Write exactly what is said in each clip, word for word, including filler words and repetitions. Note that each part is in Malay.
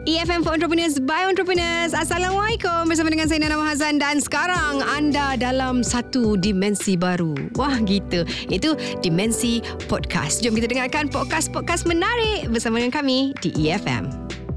E F M for Entrepreneurs by Entrepreneurs. Assalamualaikum, bersama dengan saya Nana Mahazan. Dan sekarang anda dalam satu dimensi baru. Wah gitu, itu dimensi podcast. Jom kita dengarkan podcast-podcast menarik bersama dengan kami di E F M.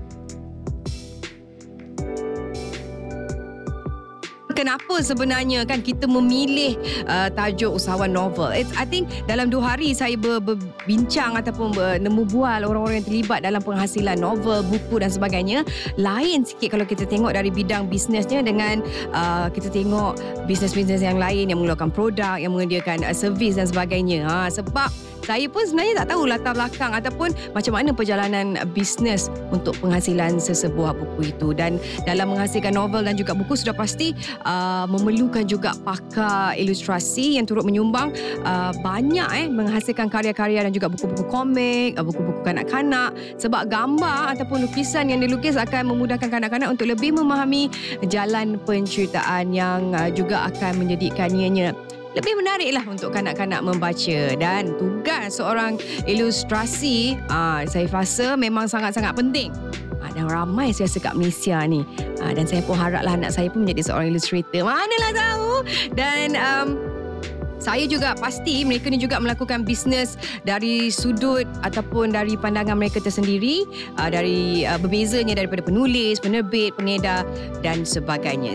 Kenapa sebenarnya kan kita memilih uh, tajuk usahawan novel? It's, I think dalam dua hari saya ber, berbincang ataupun bertemu bual orang-orang yang terlibat dalam penghasilan novel, buku dan sebagainya. Lain sikit kalau kita tengok dari bidang bisnesnya dengan uh, kita tengok bisnes-bisnes yang lain yang mengeluarkan produk, yang menyediakan uh, servis dan sebagainya. Ha, sebab saya pun sebenarnya tak tahu latar belakang ataupun macam mana perjalanan bisnes untuk penghasilan sesebuah buku itu. Dan dalam menghasilkan novel dan juga buku sudah pasti uh, memerlukan juga pakar ilustrasi yang turut menyumbang uh, banyak eh menghasilkan karya-karya dan juga buku-buku komik, uh, buku-buku kanak-kanak. Sebab gambar ataupun lukisan yang dilukis akan memudahkan kanak-kanak untuk lebih memahami jalan penceritaan yang uh, juga akan menjadikannya lebih menarik lah untuk kanak-kanak membaca. Dan tugas seorang ilustrasi aa, saya rasa memang sangat-sangat penting. Aa, dan ramai saya rasa kat Malaysia ni. Aa, dan saya pun haraplah anak saya pun menjadi seorang ilustrator. Manalah tahu. Dan um, saya juga pasti mereka ni juga melakukan bisnes dari sudut ataupun dari pandangan mereka tersendiri. Aa, dari uh, berbezanya daripada penulis, penerbit, pengedar dan sebagainya.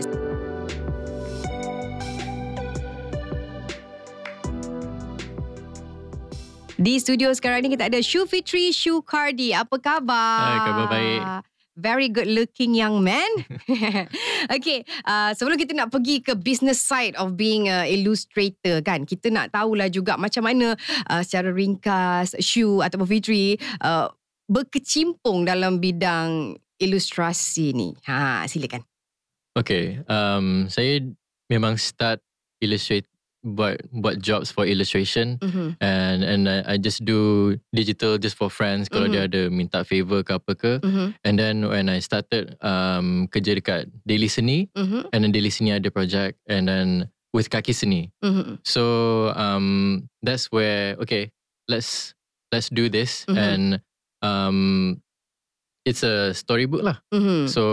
Di studio sekarang ni kita ada Shu Fitri Shukardi. Apa khabar? Hai, khabar baik. Very good looking young man. Okay, uh, sebelum kita nak pergi ke business side of being a illustrator kan, kita nak tahulah juga macam mana uh, secara ringkas Shu ataupun Fitri uh, berkecimpung dalam bidang ilustrasi ni. Ha, silakan. Okay, um, saya memang start illustrate buat buat jobs for illustration, mm-hmm. and and I, I just do digital just for friends kalau mm-hmm. dia ada minta favor ke apa ke, mm-hmm. and then when I started um, kerja dekat Daily Seni, mm-hmm. and then Daily Seni ada project, and then with Kaki Seni, mm-hmm. so um, that's where okay let's let's do this, mm-hmm. and um, it's a storybook lah, mm-hmm. so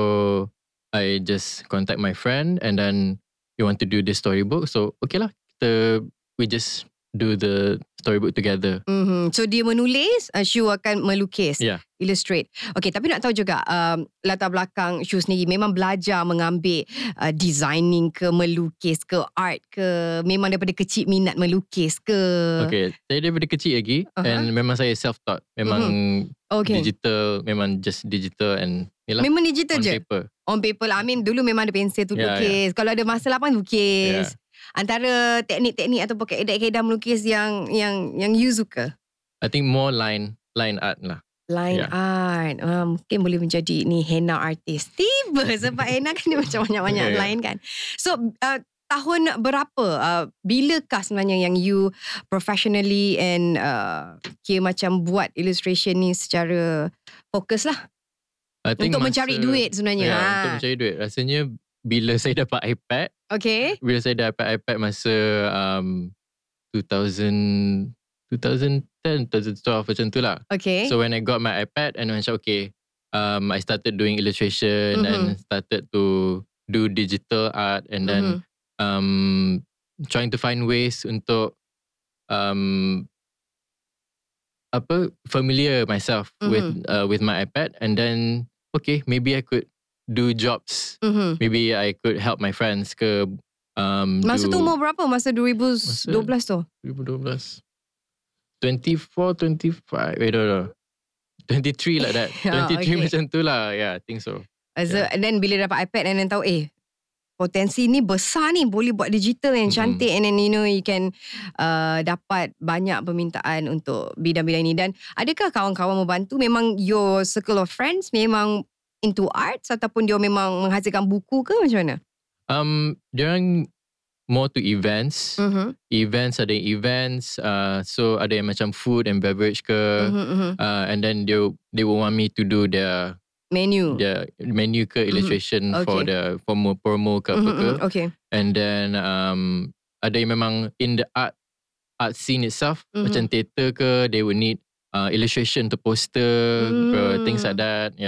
I just contact my friend and then you want to do this storybook, so okay lah. The, we just do the storybook together. Mm-hmm. So dia menulis, uh, Shu akan melukis, yeah. illustrate. Okay, tapi nak tahu juga um, latar belakang Shu sendiri memang belajar mengambil uh, designing ke, melukis ke, art ke, memang daripada kecil minat melukis ke? Okay, saya daripada kecil lagi, uh-huh. and memang saya self-taught. Memang mm-hmm. okay. digital, memang just digital and yalah, memang digital on je? Paper. On paper lah. I mean dulu memang ada pensel tu yeah, lukis. Yeah. Kalau ada masa lapang lukis. Yeah. Antara teknik-teknik ataupun kaedah-kaedah melukis yang yang yang you suka? I think more line line art lah. Line yeah. art. Uh, mungkin boleh menjadi ni henna artist. Tiba sebab henna kan dia macam banyak-banyak yeah, line kan. So uh, tahun berapa? Uh, bilakah sebenarnya yang you professionally and uh, kira macam buat illustration ni secara fokus lah? Untuk masa, mencari duit sebenarnya. Yeah, ha. Untuk mencari duit. Rasanya bila saya dapat iPad. Okay. Bila saya dapat iPad masa um, two thousand, twenty ten, twenty twelve macam tu lah. Okay. So when I got my iPad and I macam okay, um, I started doing illustration, mm-hmm. and started to do digital art, and then mm-hmm. um, trying to find ways untuk um, apa familiar myself mm-hmm. with uh, with my iPad, and then okay, maybe I could do jobs. Mm-hmm. Maybe I could help my friends ke. Um, masa do, tu umur berapa? Masa twenty twelve tu? twenty twelve twenty-four, twenty-five I don't know, twenty-three like that. twenty-three okay. Macam tu lah. Yeah, I think so. So, yeah. And then bila dapat iPad and then tahu eh potensi ni besar ni, boleh buat digital yang mm-hmm. cantik, and then you know you can uh, dapat banyak permintaan untuk bidang-bidang ni. Dan adakah kawan-kawan membantu? Memang your circle of friends memang into arts ataupun dia memang menghasilkan buku ke macam mana? Um, diorang more to events. Mm-hmm. Events, ada events. Uh, so ada yang macam food and beverage ke. Mm-hmm. Uh, and then they they will want me to do their menu, their menu ke, illustration mm-hmm. okay. for the promo promo ke mm-hmm. apa ke. Okay. And then um, ada yang memang in the art art scene itself, mm-hmm. macam theatre ke, they will need uh, illustration to poster, mm. things like that. Yeah.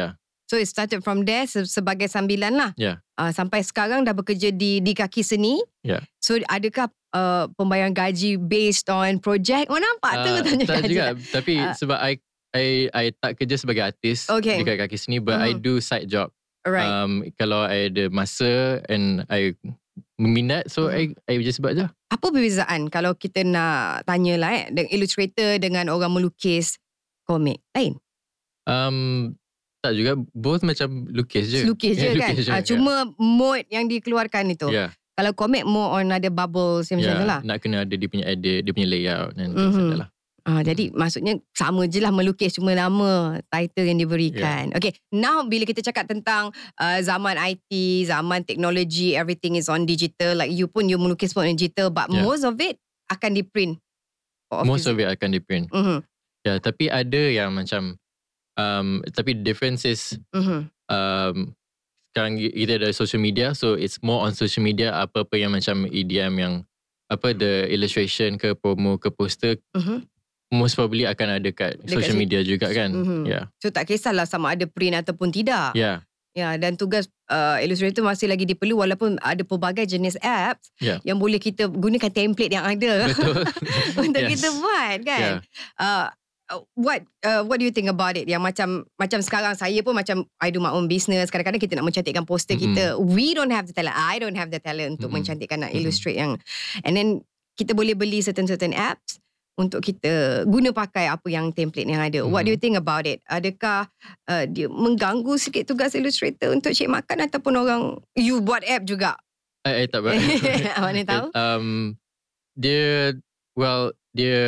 So it started from there se- sebagai sambilan lah. Yeah. Uh, sampai sekarang dah bekerja di di Kaki Seni. Yeah. So adakah uh, pembayaran gaji based on project? Oh nampak tu Uh, tanya tak gaji. juga. Tapi Uh, sebab I, I I tak kerja sebagai artis Okay. dekat Kaki Seni, but I Mhm. do side job. Alright. Um, kalau I ada masa and I minat, so I I just buat je. Apa perbezaan kalau kita nak tanya lah eh, dengan illustrator dengan orang melukis komik lain? Um, tak juga, both macam lukis je. Lukis je Yeah, kan? lukis je, Ah, cuma mood yang dikeluarkan itu. yeah. Kalau komik more on ada bubbles yang Yeah, macam tu lah. nak kena ada dia punya edit, dia punya layout dan things Mhm. like that lah. Ah, jadi maksudnya sama je lah melukis, cuma nama title yang diberikan. Okay, now bila kita cakap tentang uh, zaman I T, zaman teknologi, everything is on digital. Like you pun, you melukis pun on digital, but Yeah. most of it akan di print. Most of it akan di print. Mm-hmm. Ya, yeah, tapi ada yang macam um, tapi the difference is Mm-hmm. um, sekarang kita ada social media, so it's more on social media. Apa-apa yang macam E D M yang apa the illustration ke promo ke poster, Mm-hmm. most probably akan ada kat Dekat social situ. media juga kan. Mhm. Ya. Yeah. So tak kisahlah sama ada print ataupun tidak. Ya. Ya, dan tugas uh, illustrator masih lagi diperlu walaupun ada pelbagai jenis apps Yeah. yang boleh kita gunakan template yang ada Betul. untuk Yes. kita buat kan. Yeah. Uh, uh, what uh, what do you think about it? Yang macam macam sekarang saya pun macam I do my own business. Kadang-kadang kita nak mencantikkan poster Mm-mm. kita. We don't have the talent. I don't have the talent untuk Mm-mm. mencantikkan, nak Mm-mm. illustrate yang, and then kita boleh beli certain-certain apps untuk kita guna pakai apa yang template yang ada. What do you think about it? Adakah uh, dia mengganggu sikit tugas illustrator untuk cek makan ataupun orang you buat app juga? I, I tak buat. Mana tahu? Um, dia well dia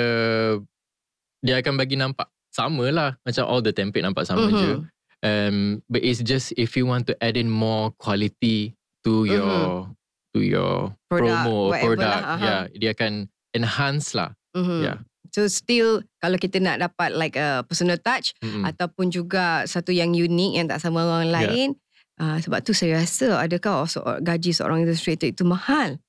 dia akan bagi nampak sama lah, macam all the template nampak sama Mhm. je. Um, but it's just if you want to add in more quality to your to your Product, promo or whatever product, lah, aha. yeah, dia akan enhance lah. Mhm. Yeah. So still kalau kita nak dapat like a personal touch Mm-mm. ataupun juga satu yang unik yang tak sama orang lain, uh, sebab tu saya rasa adakah so, gaji seorang illustrator itu mahal?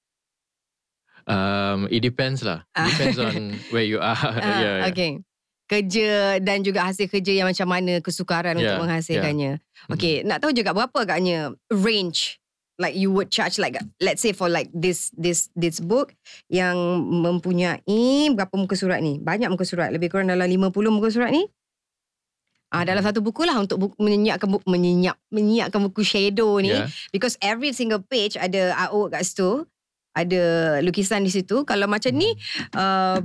Um, it depends lah. Depends on where you are. Ah, yeah, yeah. Okay. Kerja dan juga hasil kerja yang macam mana, kesukaran Yeah, untuk menghasilkannya. Mhm. Okay, nak tahu juga berapa agaknya range like you would charge, like let's say for like this this this book yang mempunyai berapa muka surat ni? Banyak muka surat, lebih kurang dalam lima puluh muka surat ni. Ah, dalam satu buku lah untuk buku, menyiapkan buku, menyiap, menyiapkan buku shadow ni. Yeah. Because every single page ada artwork kat situ, ada lukisan di situ. Kalau macam ni, uh,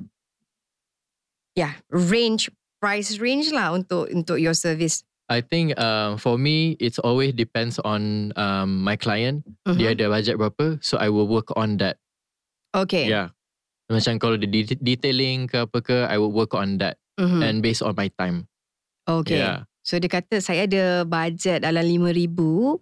yeah, range, price range lah untuk untuk your service. I think um, for me, it's always depends on um, my client. Mhm. Dia ada budget berapa, so I will work on that. Okay. Yeah. Macam kalau the de- detailing ke apa ke, I will work on that. Mhm. And based on my time. Okay. Yeah. So dia kata saya ada bajet dalam lima ribu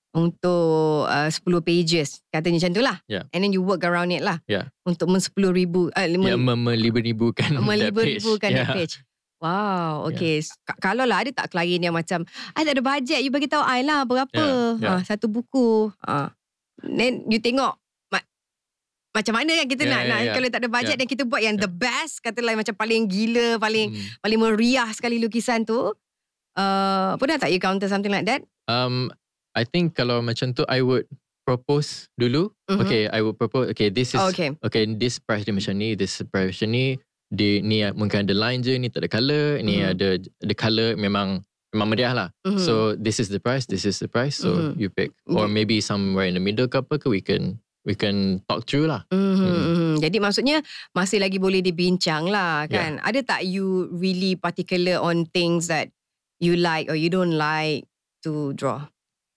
untuk uh, sepuluh pages. Katanya macam tu lah. Yeah. And then you work around it lah. Yeah. Untuk men sepuluh ribu. Uh, Ya, yeah, melibu-libukan that page. melibu-libukan that Yeah. page. Wow, okay. Yeah. Kalau lah ada tak klien yang macam, I tak ada bajet, you bagi tahu I lah berapa. Yeah, yeah. Ha, satu buku. Ha. Then you tengok ma- macam mana kan kita Yeah, nak, yeah, nak yeah. kalau tak ada bajet Yeah. dan kita buat yang the best, katalah macam paling gila, paling Hmm. paling meriah sekali lukisan tu. Uh, pernah tak you counter something like that? Um, I think kalau macam tu, I would propose dulu. Mhm. Okay, I would propose. Okay, this is Oh, okay. okay. This price dia macam ni, this price macam ni. Di ni mungkin ada line je, ni tak ada colour, ni Mhm. ada the colour memang memang meriah lah. Mhm. So this is the price, this is the price. So Mhm. you pick, or Okay. maybe somewhere in the middle ke apa ke, we can we can talk through lah. Mm-hmm. Mm. Mm-hmm. Jadi maksudnya masih lagi boleh dibincang lah kan. Yeah. Ada tak you really particular on things that you like or you don't like to draw?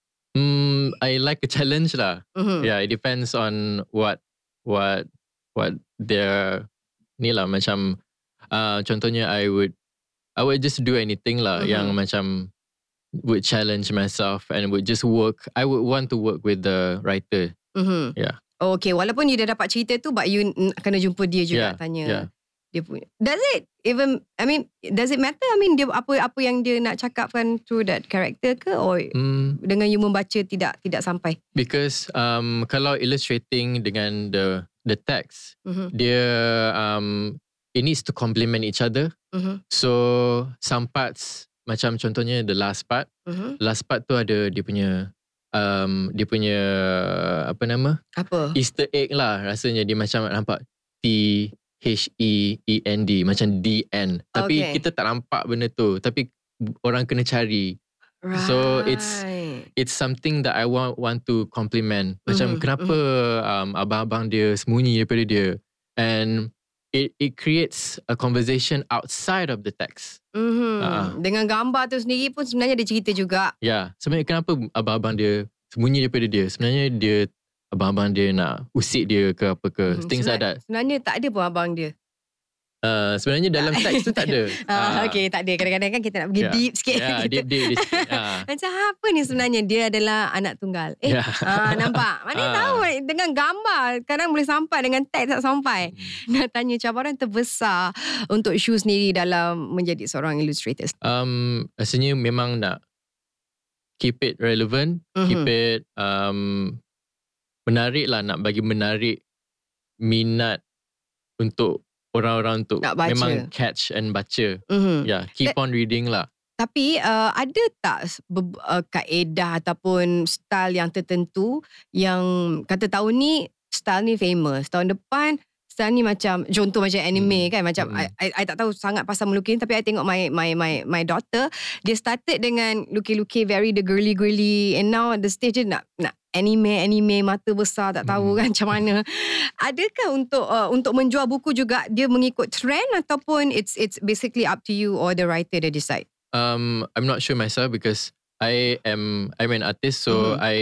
Hmm, I like a challenge lah. Mm-hmm. Yeah, it depends on what what what their ni lah, macam uh, contohnya I would I would just do anything lah, Mhm. yang macam would challenge myself and would just work. I would want to work with the writer. Mm-hmm. Yeah. Oh, okay, walaupun you dah dapat cerita tu, but you n- kena jumpa dia juga, Yeah, tanya yeah. dia punya. Does it even, I mean, does it matter? I mean, dia apa apa yang dia nak cakapkan through that character ke, or Hmm, dengan you membaca tidak tidak sampai? because um, kalau illustrating dengan the the text, Mm-hmm. dia um, it needs to complement each other. Mm-hmm. So some parts macam contohnya the last part. Mhm. Last part tu ada dia punya um, dia punya apa nama? Apa? Easter egg lah rasanya. Dia macam nampak T H E E N D macam D N. Tapi Okay. kita tak nampak benda tu. Tapi orang kena cari. Right. So it's it's something that I want want to compliment. Macam Mhm, kenapa um, abang-abang dia sembunyi daripada dia. And it it creates a conversation outside of the text. Mhm. Uh-uh. Dengan gambar tu sendiri pun sebenarnya ada cerita juga. Ya, yeah. Sebenarnya kenapa abang-abang dia sembunyi daripada dia? Sebenarnya dia abang-abang dia nak usik dia ke apa ke. Mhm. Things like Sebenar- that. Sebenarnya tak ada pun abang dia. Uh, sebenarnya dalam teks tu tak ada. Ah, okay, tak ada. Kadang-kadang kan kita nak pergi Yeah. deep sikit. Ya, Kita- deep deep. deep. Ah. Macam apa ni sebenarnya? Dia adalah anak tunggal. Eh, Ya. ah, nampak? Mana Ah. tahu dengan gambar kadang boleh sampai, dengan teks tak sampai. Nak tanya cabaran terbesar untuk Shu sendiri dalam menjadi seorang illustrator. Um, rasanya memang nak keep it relevant, Mhm. keep it um, menarik lah, nak bagi menarik minat untuk orang-orang untuk Nak baca. memang catch and baca. Mhm. Ya, yeah, keep on reading lah. Tapi uh, ada tak be- uh, kaedah ataupun style yang tertentu yang kata tahun ni style ni famous, tahun depan style ni macam contoh macam anime Hmm. kan, macam Hmm. I, I, I tak tahu sangat pasal melukis, tapi I tengok my my my my daughter, dia started dengan lukis-lukis very the girly girly, and now the stage dia nak nak anime anime mata besar, tak tahu Hmm. kan macam mana. Adakah untuk uh, untuk menjual buku juga dia mengikut trend, ataupun it's it's basically up to you or the writer that decide? Um, I'm not sure myself because I am I'm an artist, so Mhm. I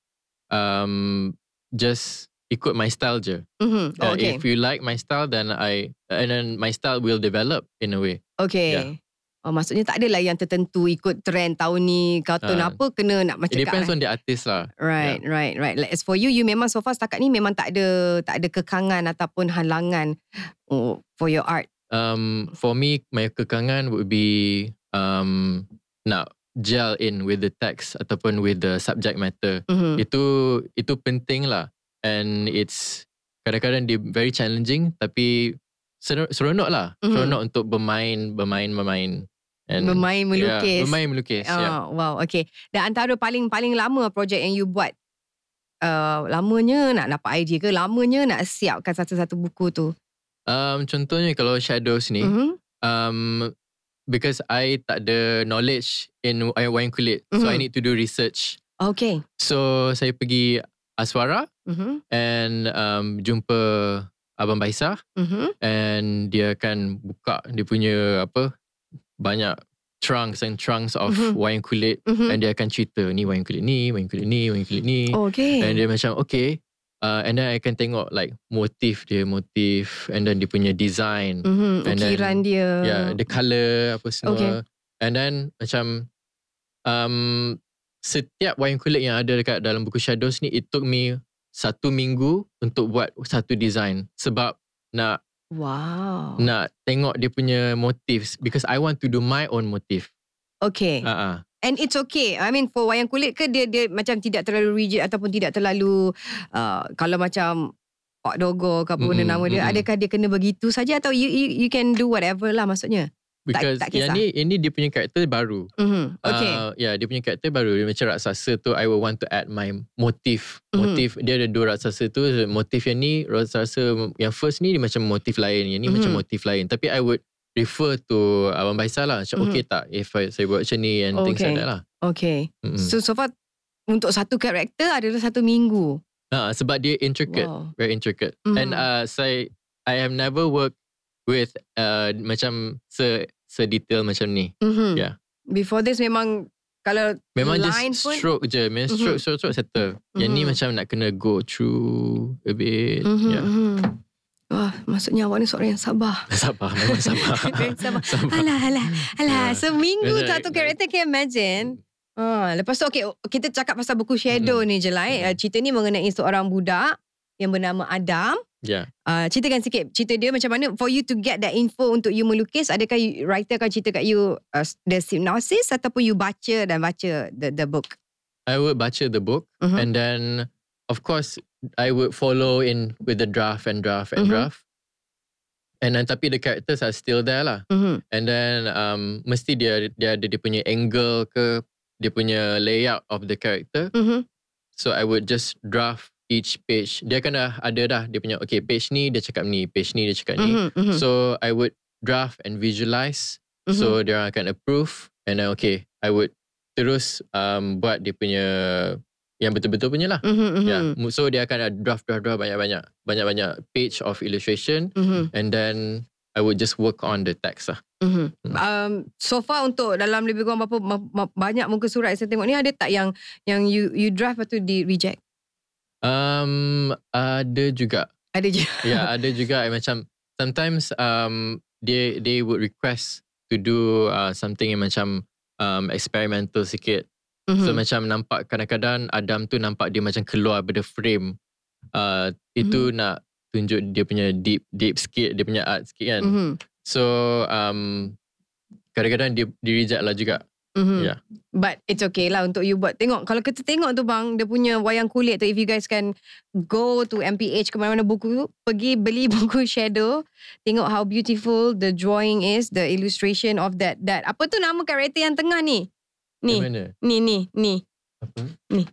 um just ikut my style je. Mhm. Uh, Oh, okay. If you like my style, then I and then my style will develop in a way. Okay. Yeah. Oh, maksudnya tak adalah yang tertentu ikut trend tahun ni, kartun Ah. apa kena nak macam It depends kat- on the artist lah. Right, right, right. Like, as for you, you memang so far setakat ni memang tak ada tak ada kekangan ataupun halangan oh, for your art. Um, for me, my kekangan would be um nak gel in with the text ataupun with the subject matter. Mhm. Itu itu penting lah, and it's kadang-kadang dia very challenging tapi ser- seronok lah, Mhm. seronok untuk bermain, bermain, bermain. And Bermain melukis. Yeah, bermain melukis. Oh, Yeah. wow, okay. Dan antara paling-paling lama projek yang you buat, uh, lamanya nak dapat idea ke, lamanya nak siapkan satu-satu buku tu? Um, contohnya kalau Shadows ni, Mhm. um, because I tak ada knowledge in wayang kulit, so Mhm. I need to do research. Okay. So saya pergi Aswara Mhm. and um, jumpa Abang Baisah, Mhm. and dia akan buka dia punya apa banyak trunks and trunks of Mhm. wayang kulit, Mhm. and dia akan cerita ni wayang kulit ni, wayang kulit ni, wayang kulit ni. Okay. And dia macam okay, uh, and then I akan tengok like motif dia, motif, and then dia punya design. Mhm. and then- Ukiran dia. Yeah, the colour apa semua. Okay. And then macam um, setiap wayang kulit yang ada dekat dalam buku Shadows ni, it took me satu minggu untuk buat satu design. Sebab nak Wow. nak tengok dia punya motif, because I want to do my own motif. Okay. Uh-uh. And it's okay. I mean, for wayang kulit ke dia dia macam tidak terlalu rigid ataupun tidak terlalu uh, kalau macam Pak Dogo ke apa benda Mm-mm, nama dia, mm-mm. adakah dia kena begitu saja atau you, you you can do whatever lah maksudnya? Because tak yang kisah. ni ini dia punya karakter baru. Mhm. Okay. Uh, yeah, dia punya karakter baru. Dia macam raksasa tu, I will want to add my motif. Mhm. Motif, dia ada dua raksasa tu. Motif yang ni, raksasa yang first ni dia macam motif lain. Yang ni Mhm. macam motif lain. Tapi I would refer to Abang Baisal lah. Macam Mhm. okay tak if I, saya buat macam ni and things Okay. like that lah. Okay. Mm-mm. So so far untuk satu karakter adalah satu minggu. Ha, sebab dia intricate. Wow. Very intricate. Mhm. And uh, saya, I have never worked with uh, macam se, se-detail macam ni. Mhm. Yeah. Before this memang kalau Memang line just pun stroke je. Memang Mhm. stroke, stroke, stroke, settle. Yang ni Mhm. macam nak kena go through a bit. Mhm, Yeah. mhm. Wah, maksudnya awak ni seorang yang sabar. Sabar, memang sabar. Memang sabar. Sabar. Alah, alah, alah. Yeah. Seminggu Macam- satu karakter, can you imagine? Ha, lepas tu okay, kita cakap pasal buku Shadow Mm-mm. ni je lah. Eh. Mm. Uh, Cerita ni mengenai seorang budak yang bernama Adam. Yeah. Uh, ceritakan sikit cerita dia macam mana for you to get that info untuk you melukis. Adakah you, writer akan cerita kat you uh, the synopsis ataupun you baca dan baca the the book? I would baca the book Mhm. and then of course I would follow in with the draft and draft and Mhm. draft. And then tapi the characters are still there lah. Mm-hmm. And then um, mesti dia dia ada dia punya angle ke, dia punya layout of the character. Mm-hmm. So I would just draft each page. Dia kan dah ada dah dia punya, okay, page ni dia cakap ni, page ni dia cakap ni. Mm-hmm. Mm-hmm. So I would draft and visualize. Mm-hmm. So dia akan approve. And then okay, I would terus um, buat dia punya yang betul-betul punya lah. Mm-hmm. Yeah. So dia akan ada draft-draft-draft banyak-banyak. Banyak-banyak page of illustration. Mm-hmm. And then I would just work on the text lah. Mm-hmm. Um, so far untuk dalam lebih kurang berapa ma- ma- banyak muka surat saya tengok ni, ada tak yang yang you you draft atau di reject? Um, ada juga. Ada je. Yeah, ada juga. Macam sometimes um they they would request to do uh, something yang macam um, experimental sikit. Mm-hmm. So macam nampak kadang-kadang Adam tu nampak dia macam keluar daripada frame. Uh, itu Mm-hmm. nak tunjuk dia punya deep deep sikit, dia punya art sikit kan. Mm-hmm. So um, kadang-kadang dia, dia reject lah juga. Mm-hmm. Yeah. But it's okay lah untuk you buat. Tengok, kalau kita tengok tu bang, dia punya wayang kulit tu, if you guys can go to M P H ke mana-mana buku, pergi beli buku Shadow, tengok how beautiful the drawing is, the illustration of that that apa tu nama karakter yang tengah ni? Ni. Yang mana? Ni ni ni. Apa? Ni.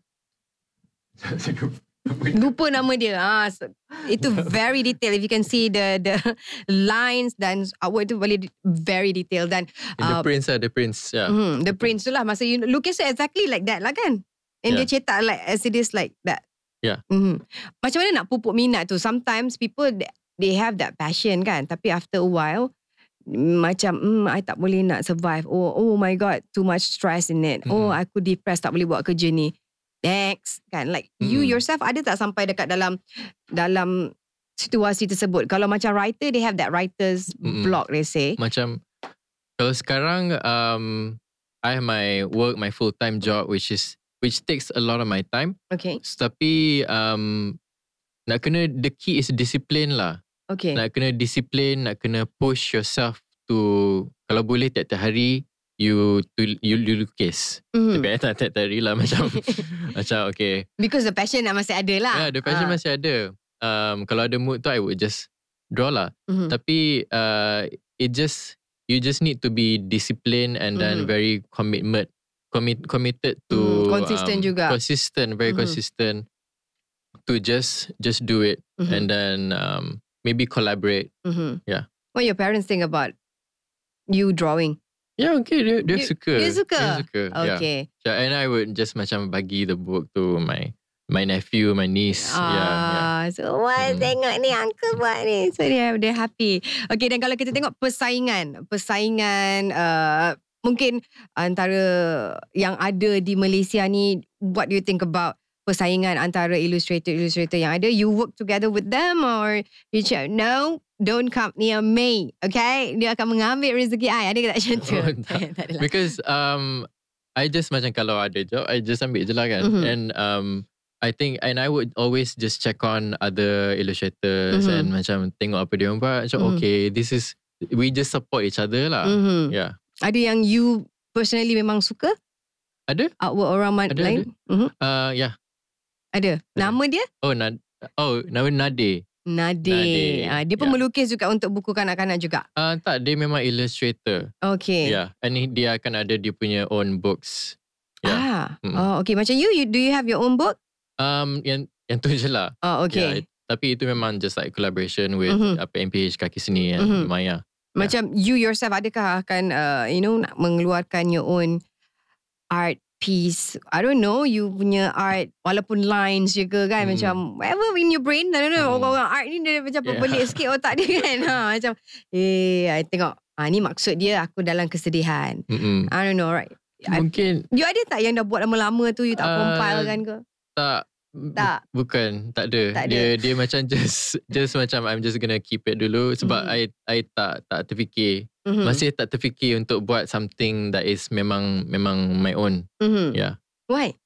Lupa nama dia. Ah, so, itu very detail. If you can see the the lines dan artwork tu boleh very detail dan The uh, prince lah, the prince. Yeah. mm, the prince tu lah. Masa you lukis tu exactly like that lah kan. And Yeah. dia cetak like as it is like that. Yeah. Mm-hmm. Macam mana nak pupuk minat tu? Sometimes people they have that passion kan. Tapi after a while macam hmm, I tak boleh nak survive. Oh oh my god, too much stress in it. Mm-hmm. Oh aku depressed, tak boleh buat kerja ni. Next kan, like mm-hmm. you yourself ada tak sampai dekat dalam dalam situasi tersebut? Kalau macam writer, they have that writer's mm-hmm. block, they say. Macam kalau sekarang um, I have my work, my full time job, which is which takes a lot of my time. Okay. So, tapi um, nak kena, the key is discipline lah. Okay. Nak kena disiplin, nak kena push yourself to, kalau boleh tiap-tiap hari you to you, you lukis. Mm-hmm. Tapi I tak tiap-tiap hari lah macam macam okay. Because the passion nak masih ada lah. Yeah, the passion Ah. masih ada. Um, kalau ada mood tu I would just draw lah. Mm-hmm. Tapi uh, it just you just need to be disciplined and then Mm-hmm. very commitment commit committed to Mm, consistent um, juga. consistent very Mhm. consistent to just just do it Mhm. and then um, maybe collaborate. Mm-hmm. Yeah. What your parents think about you drawing? Yeah, okay, dia, dia You- suka. Dia suka? Dia suka. Okay. Yeah. And I would just macam bagi the book to my my nephew, my niece. Ah, Yeah, yeah. so wah, Hmm. tengok ni uncle buat ni. So dia dia happy. Okay, dan kalau kita tengok persaingan, persaingan uh, mungkin antara yang ada di Malaysia ni, what do you think about persaingan antara illustrator-illustrator yang ada? You work together with them or you cakap, no, don't come near me. Okay? Dia akan mengambil rezeki I. Ada ke tak macam tu? Oh, tak. tak adalah. Because um, I just macam kalau ada job, I just ambil je lah kan. Mhm. And um, I think, and I would always just check on other illustrators Mhm. and macam tengok apa dia orang buat. Macam Mhm. okay, this is, we just support each other lah. Mhm. Yeah. Ada yang you personally memang suka? Ada? Artwork orang man- Ada, lain? Mhm. Uh, yeah. Ada. Nama dia? Oh, Nad oh nama Nade. Nade. Nade, Ah, dia pun ya. melukis juga untuk buku kanak-kanak juga. Uh, tak, dia memang illustrator. Okay. Yeah. And he- dia akan ada dia punya own books. Yeah. Ah. Mm. Oh, okay. Macam you, you, do you have your own book? Um, yang yang tu je lah. Oh, okay. Yeah, tapi itu memang just like collaboration with Mhm. apa M P H Kaki Seni and Mhm. Maya. Macam you yourself, adakah akan, uh, you know, nak mengeluarkan your own art piece? I don't know, you punya art, walaupun lines je ke kan, Hmm. macam whatever in your brain. I don't know, Hmm. orang-orang art ni dia macam Yeah. pelik sikit otak dia kan. Ha, macam, eh, I tengok, ah, ni maksud dia aku dalam kesedihan. Mm-mm. I don't know, right? I- Mungkin You ada tak yang dah buat lama-lama tu, you tak Uh, compile kan ke? tak bu- Tak. Bukan, tak ada. Tak ada. Dia dia macam just just macam I'm just gonna keep it dulu sebab Mhm. I I tak tak terfikir. Mhm. Masih tak terfikir untuk buat something that is memang memang my own. Mhm. Yeah. Why?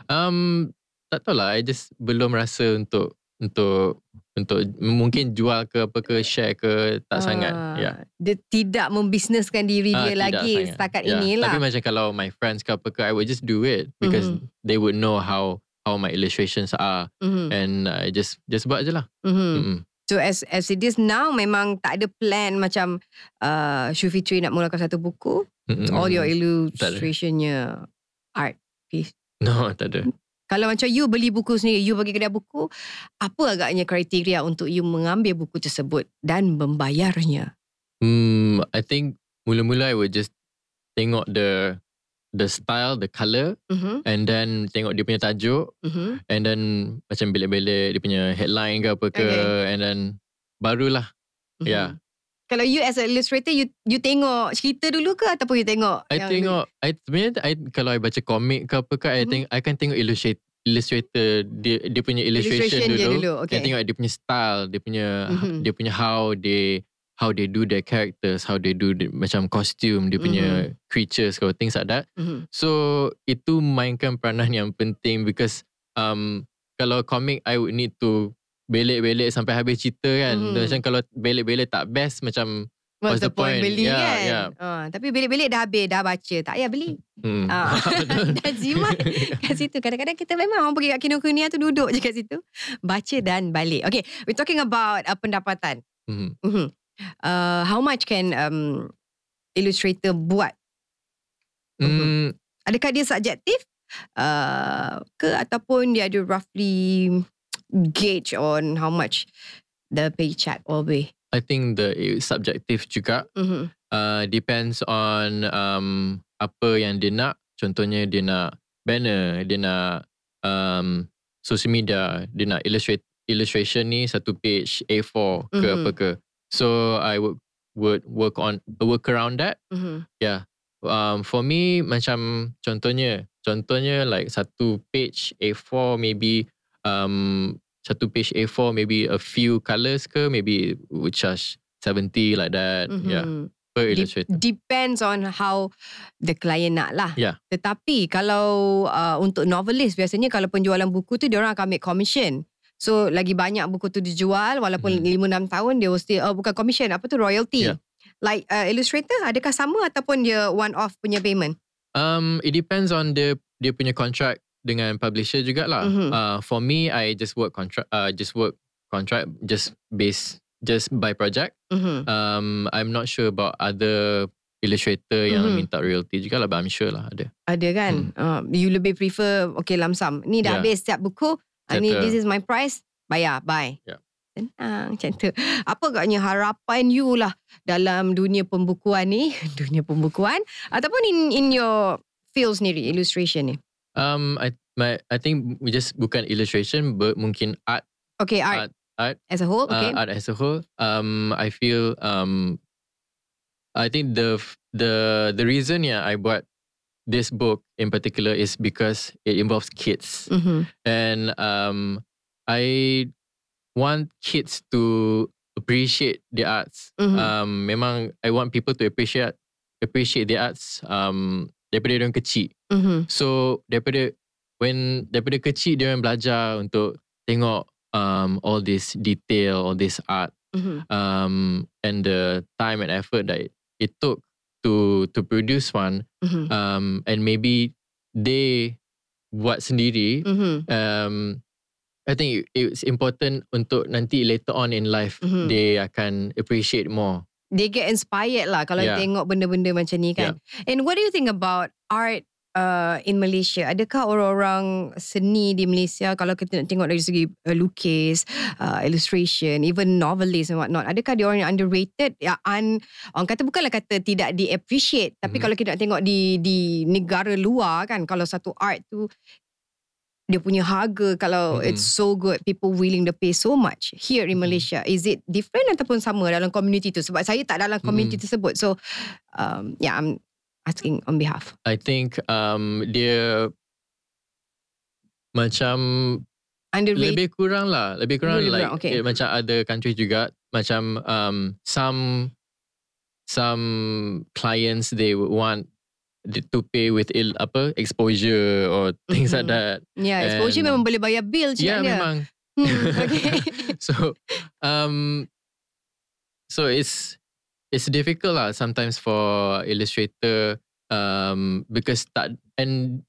Um tak tahulah, I just belum rasa untuk untuk untuk mungkin jual ke apa ke, share ke, tak sangat. Ah, Yeah. Dia tidak membisneskan diri Ah, dia tidak lagi sangat. setakat Yeah. inilah. Tapi macam kalau my friends ke apa ke, I would just do it because Mhm. they would know how how my illustrations are Mhm. and I just just buat je lah. Mhm. Mm-mm. So as as it is now, memang tak ada plan macam uh, Syufitri nak mulakan satu buku. Mm-mm. All your illustrationnya art piece. No, tak ada. Kalau macam you beli buku sendiri, you pergi kedai buku, apa agaknya kriteria untuk you mengambil buku tersebut dan membayarnya? Hmm, I think mula-mula I would just tengok the the style, the colour, Mm-hmm. and then tengok dia punya tajuk, Mm-hmm. and then macam belik-belik dia punya headline ke apa ke, Okay. and then barulah. Mm-hmm. Yeah. Kalau you as an illustrator, you you tengok cerita dulu ke ataupun you tengok? I yang tengok, I sebenarnya I, kalau I baca komik ke apa ke, I Mhm. think I kan tengok illustrate, illustrator dia dia punya illustration, illustration dia dulu. dulu? Okay. I tengok dia punya style, dia punya Mhm. dia punya how they how they do their characters, how they do the, macam costume, dia punya creatures or things like that. Mhm. So itu mainkan peranan yang penting because um kalau komik I would need to belik-belik sampai habis cerita kan. Mhm. Macam kalau belik-belik tak best macam What's the point, beli Yeah, kan? yeah. Uh, tapi belik-belik dah habis, dah baca. Tak payah beli. Hmm. Ah. Dan jimat kat situ. Kadang-kadang kita memang orang pergi kat Kinokuniya tu duduk je kat situ. Baca dan balik. Okay, we're talking about uh, pendapatan. Hmm. Mm-hmm. Uh, how much can um, illustrator buat? Hmm. Adakah dia subjektif? Uh, ke ataupun dia ada roughly gauge on how much the paycheck will be? I think the it's subjective juga. Mm-hmm. Uh, depends on um, apa yang dia nak. Contohnya dia nak banner, dia nak um, social media, dia nak illustrate illustration ni satu page A four ke Mhm. apa ke. So I would would work on work around that. Mm-hmm. Yeah. Um, for me macam contohnya, contohnya like satu page A four maybe um, satu page A four maybe a few colours ke, maybe would charge seventy like that. Mm-hmm. Yeah. Per Dep- illustrator. depends on how the client nak lah. Yeah. Tetapi kalau uh, untuk novelist, biasanya kalau penjualan buku tu diorang akan make commission. So lagi banyak buku tu dijual walaupun Hmm. lima enam tahun dia still oh, bukan commission, apa tu, royalty. Yeah. Like uh, illustrator adakah sama ataupun dia one off punya payment? Um, it depends on the dia punya contract dengan publisher jugalah. Mhm. Uh, for me, I just work contract, uh, just work contract, just base, just by project. Mm-hmm. Um, I'm not sure about other illustrator yang Mhm. minta royalty jugalah, but I'm sure lah ada. Ada kan? Uh, you lebih prefer okay lump sum. Ni dah Yeah. habis setiap buku. Uh, ni Settle. this is my price. Bayar, bye. Yeah. Senang macam tu. Apa agaknya harapan you lah dalam dunia pembukuan ni, dunia pembukuan ataupun in in your field sendiri, illustration ni? Um, I my I think we just bukan illustration, but mungkin art, Okay, art, art, art, as a whole, okay. uh, art as a whole. Um, I feel um, I think the the the reason yeah I bought this book in particular is because it involves kids, Mm-hmm. and um, I want kids to appreciate the arts. Mhm. Um, memang I want people to appreciate appreciate the arts. Um, daripada orang kecil. Mm-hmm. So daripada when daripada kecil dia orang belajar untuk tengok um, all this detail, all this art, Mm-hmm. um, and the time and effort that it took to to produce one, Mm-hmm. um, and maybe they buat sendiri. Mm-hmm. Um, I think it's important untuk nanti later on in life Mhm. they akan appreciate more. They get inspired lah kalau Yeah. tengok benda-benda macam ni kan. And what do you think about art uh, in Malaysia? Adakah orang-orang seni di Malaysia, kalau kita nak tengok dari segi uh, lukis, uh, illustration, even novelist and whatnot, adakah dia orang yang underrated? Ya, un, orang kata bukanlah kata tidak di-appreciate, tapi Mhm. kalau kita nak tengok di di negara luar kan, kalau satu art tu dia punya harga, kalau Mhm. it's so good, people willing to pay so much. Here in Mhm. Malaysia, is it different ataupun sama dalam community tu? Sebab saya tak dalam community Mhm. tersebut. So, um, yeah, I'm asking on behalf. I think um, dia macam Underrated. lebih kurang lah, lebih kurang Lebih like kurang, okay. eh, macam other countries juga, macam um, some some clients they would want to pay with ill, apa exposure or things like Mhm. that. Yeah, exposure And- memang boleh bayar bill Yeah, cakap dia. memang. Hmm, okay. So um, so it's it's difficult lah sometimes for illustrator um, because tak and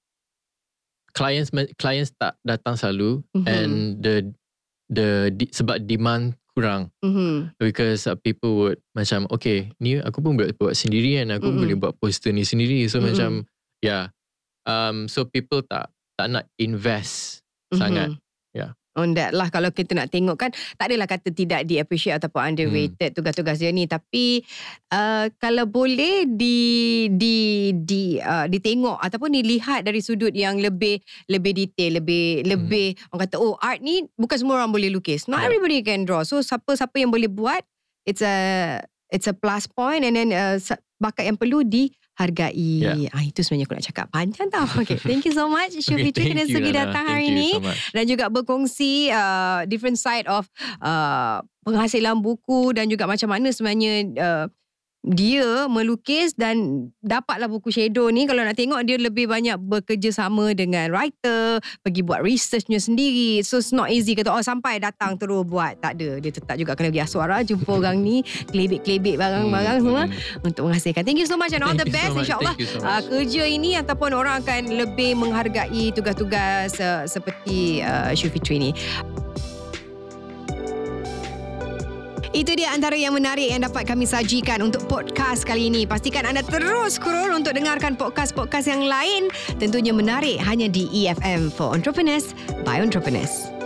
clients clients tak datang selalu, Mhm. and the the di, sebab demand kurang. Mm-hmm. Because uh, people would macam, okay, ni aku pun buat, buat sendiri kan. Aku mm-hmm. boleh buat poster ni sendiri. So mm-hmm. macam, yeah. Um, so people tak tak nak invest mm-hmm. sangat. Yeah. On that lah, kalau kita nak tengok kan, tak adalah kata tidak di appreciate ataupun underrated hmm. tugas-tugas dia ni, tapi uh, kalau boleh di di di uh, ditengok ataupun dilihat dari sudut yang lebih lebih detail, lebih hmm. lebih orang kata, oh, art ni bukan semua orang boleh lukis, not yeah. everybody can draw, so siapa-siapa yang boleh buat, it's a it's a plus point, and then uh, bakat yang perlu dihargai. Yeah. Ah, itu sebenarnya aku nak cakap panjang tau. Okay, thank you so much Syufri okay, kerana sudi datang hari ni so dan juga berkongsi uh, different side of uh, penghasilan buku dan juga macam mana sebenarnya uh, dia melukis dan dapatlah buku shadow ni. Kalau nak tengok, dia lebih banyak bekerjasama dengan writer, pergi buat researchnya sendiri. So it's not easy kata, oh sampai datang terus buat. Tak ada. Dia tetap juga kena pergi Aswara, jumpa orang ni, kelebek-kelebek barang-barang semua untuk menghasilkan. Thank you so much and all the best. InsyaAllah so uh, kerja ini ataupun orang akan lebih menghargai tugas-tugas uh, seperti uh, Syufri ni. Itu dia antara yang menarik yang dapat kami sajikan untuk podcast kali ini. Pastikan anda terus scroll untuk dengarkan podcast-podcast yang lain. Tentunya menarik hanya di E F M for Entrepreneurs by Entrepreneurs.